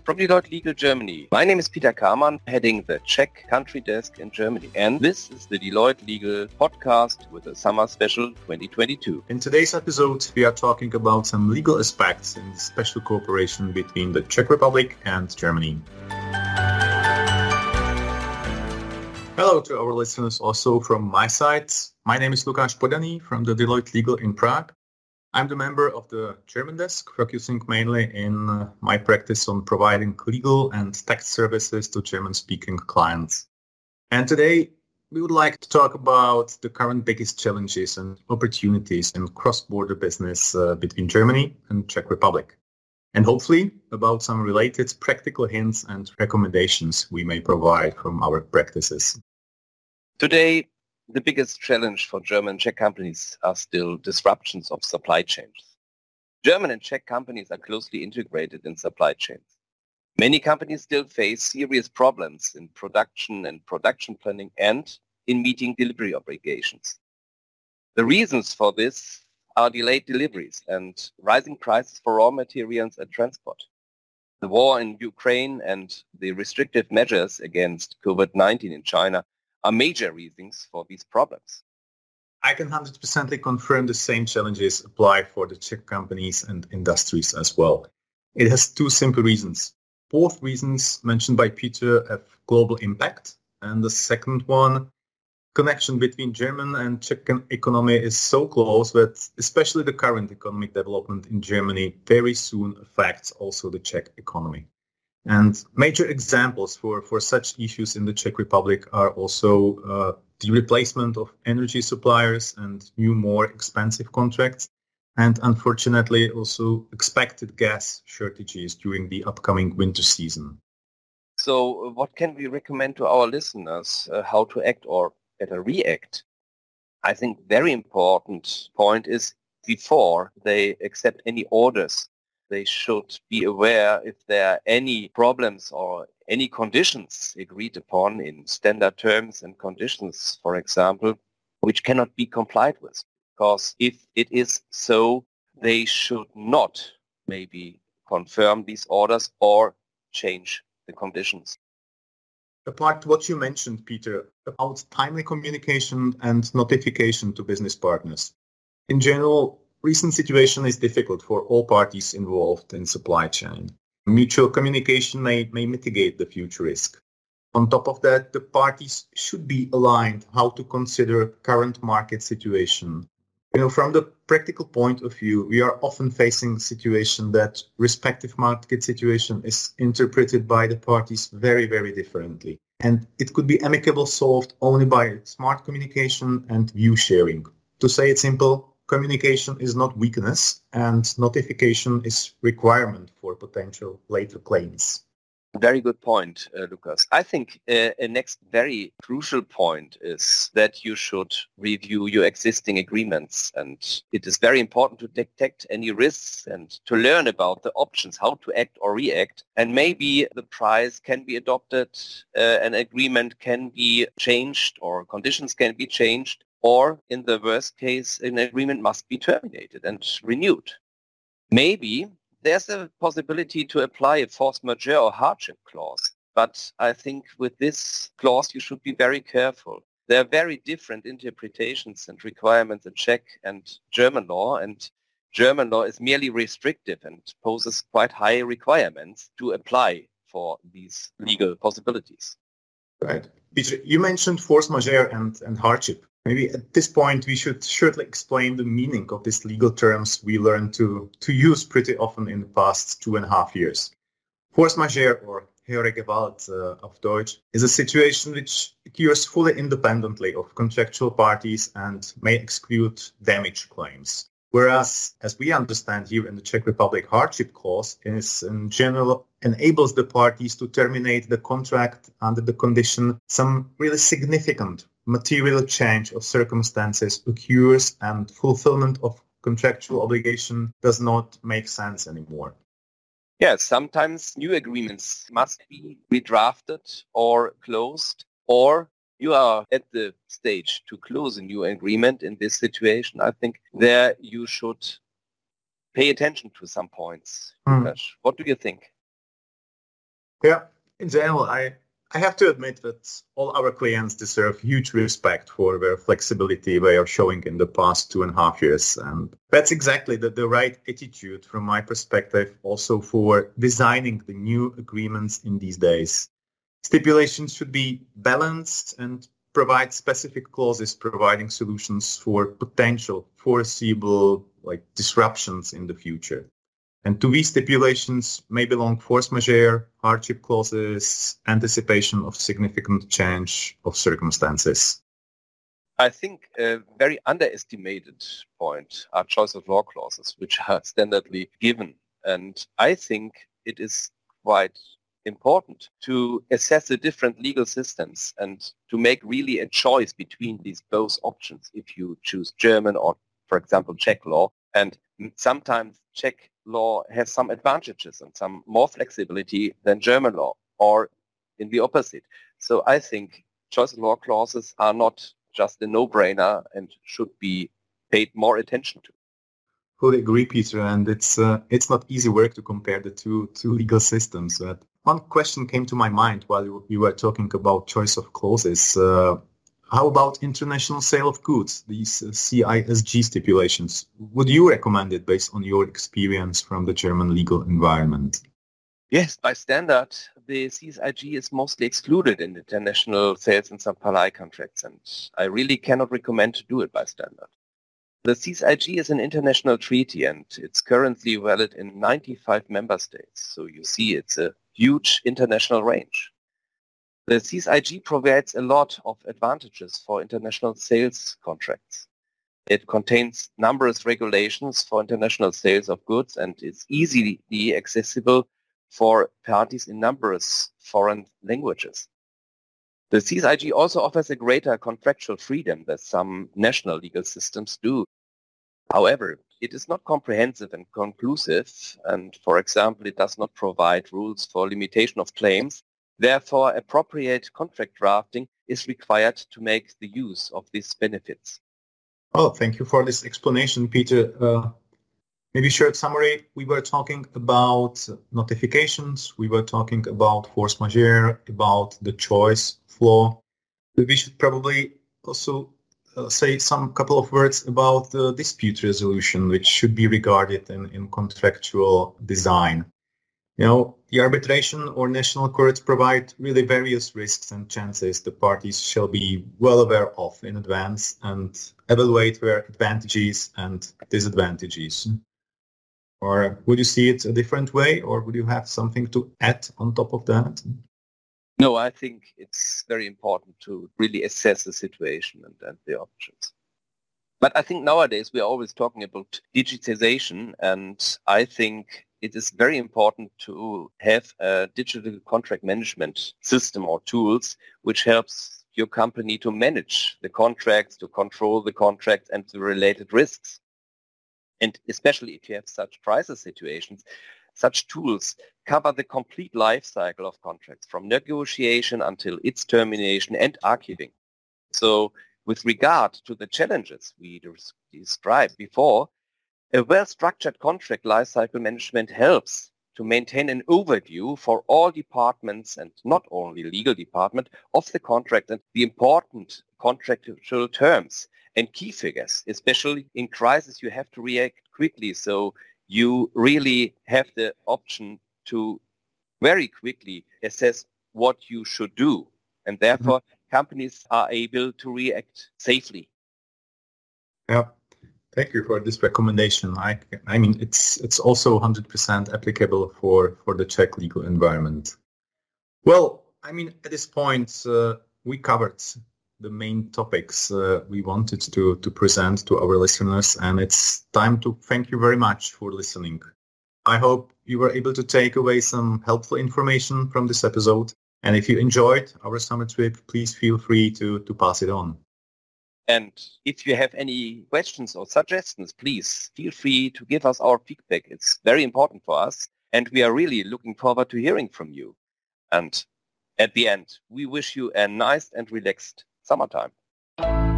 from Deloitte Legal Germany. My name is Peter Kamann, heading the Czech country desk in Germany. And this is the Deloitte Legal podcast with a summer special 2022. In today's episode, we are talking about some legal aspects in the special cooperation between the Czech Republic and Germany. Hello to our listeners also from my side. My name is Lukáš Podaný from the Deloitte Legal in Prague. I'm the member of the German desk, focusing mainly in my practice on providing legal and tax services to German-speaking clients. And today, we would like to talk about the current biggest challenges and opportunities in cross-border business between Germany and Czech Republic. And hopefully about some related practical hints and recommendations we may provide from our practices. Today, the biggest challenge for German and Czech companies are still disruptions of supply chains. German and Czech companies are closely integrated in supply chains. Many companies still face serious problems in production and production planning and in meeting delivery obligations. The reasons for this are delayed deliveries and rising prices for raw materials and transport. The war in Ukraine and the restrictive measures against COVID-19 in China are major reasons for these problems. I can 100% confirm the same challenges apply for the Czech companies and industries as well. It has two simple reasons. Both reasons mentioned by Peter have global impact. And the second one, connection between German and Czech economy is so close that especially the current economic development in Germany very soon affects also the Czech economy. And major examples for such issues in the Czech Republic are also the replacement of energy suppliers and new, more expensive contracts, and unfortunately also expected gas shortages during the upcoming winter season. So what can we recommend to our listeners how to act or better react? I think very important point is before they accept any orders, they should be aware if there are any problems or any conditions agreed upon in standard terms and conditions, for example, which cannot be complied with. Because if it is so, they should not maybe confirm these orders or change the conditions. Apart what you mentioned, Peter, about timely communication and notification to business partners. In general, recent situation is difficult for all parties involved in supply chain. Mutual communication may mitigate the future risk. On top of that, the parties should be aligned how to consider current market situation. From the practical point of view, we are often facing a situation that respective market situation is interpreted by the parties very, very differently. And it could be amicably solved only by smart communication and view sharing. To say it simple, communication is not weakness and notification is requirement for potential later claims. Very good point, Lukas. I think a next very crucial point is that you should review your existing agreements. And it is very important to detect any risks and to learn about the options, how to act or react. And maybe the price can be adopted, an agreement can be changed or conditions can be changed. Or in the worst case, an agreement must be terminated and renewed. Maybe there's a possibility to apply a force majeure or hardship clause. But I think with this clause, you should be very careful. There are very different interpretations and requirements in Czech and German law. And German law is merely restrictive and poses quite high requirements to apply for these legal possibilities. Right. Peter, you mentioned force majeure and hardship. Maybe at this point, we should shortly explain the meaning of these legal terms we learned to use pretty often in the past 2.5 years. Force majeure, or höhere Gewalt auf Deutsch, is a situation which occurs fully independently of contractual parties and may exclude damage claims. Whereas, as we understand here in the Czech Republic, hardship clause is in general enables the parties to terminate the contract under the condition some really significant material change of circumstances occurs and fulfillment of contractual obligation does not make sense anymore. Yes, sometimes new agreements must be redrafted or closed, or you are at the stage to close a new agreement in this situation. I think there you should pay attention to some points. Lukáš, what do you think? Yeah, in general, I have to admit that all our clients deserve huge respect for their flexibility they are showing in the past 2.5 years. And that's exactly the right attitude from my perspective also for designing the new agreements in these days. Stipulations should be balanced and provide specific clauses providing solutions for potential foreseeable disruptions in the future. And to these stipulations may belong force majeure, hardship clauses, anticipation of significant change of circumstances. I think a very underestimated point are choice of law clauses, which are standardly given. And I think it is quite important to assess the different legal systems and to make really a choice between these both options if you choose German or, for example, Czech law. And sometimes Czech law has some advantages and some more flexibility than German law, or in the opposite. So I think choice of law clauses are not just a no-brainer and should be paid more attention to. Fully agree, Peter, and it's not easy work to compare the two legal systems. But one question came to my mind while you were talking about choice of clauses. How about international sale of goods, these CISG stipulations? Would you recommend it based on your experience from the German legal environment? Yes, by standard, the CISG is mostly excluded in international sales and supply contracts, and I really cannot recommend to do it by standard. The CISG is an international treaty, and it's currently valid in 95 member states. So you see, it's a huge international range. The CISG provides a lot of advantages for international sales contracts. It contains numerous regulations for international sales of goods and is easily accessible for parties in numerous foreign languages. The CISG also offers a greater contractual freedom than some national legal systems do. However, it is not comprehensive and conclusive, and for example, it does not provide rules for limitation of claims. Therefore, appropriate contract drafting is required to make the use of these benefits. Oh, thank you for this explanation, Peter. Maybe short summary, we were talking about notifications, we were talking about force majeure, about the choice of law. We should probably also say some couple of words about the dispute resolution, which should be regarded in contractual design. You know, the arbitration or national courts provide really various risks and chances the parties shall be well aware of in advance and evaluate their advantages and disadvantages. Or would you see it a different way, or would you have something to add on top of that? No, I think it's very important to really assess the situation and the options. But I think nowadays we are always talking about digitization, and I think it is very important to have a digital contract management system or tools which helps your company to manage the contracts, to control the contracts and the related risks. And especially if you have such crisis situations, such tools cover the complete life cycle of contracts from negotiation until its termination and archiving. So with regard to the challenges we described before, a well-structured contract lifecycle management helps to maintain an overview for all departments and not only legal department of the contract and the important contractual terms and key figures. Especially in crisis, you have to react quickly. So you really have the option to very quickly assess what you should do. And therefore, companies are able to react safely. Yeah. Thank you for this recommendation. I mean, it's also 100% applicable for the Czech legal environment. Well, I mean, at this point, we covered the main topics we wanted to present to our listeners, and it's time to thank you very much for listening. I hope you were able to take away some helpful information from this episode. And if you enjoyed our summer trip, please feel free to pass it on. And if you have any questions or suggestions, please feel free to give us our feedback. It's very important for us, and we are really looking forward to hearing from you. And at the end, we wish you a nice and relaxed summertime.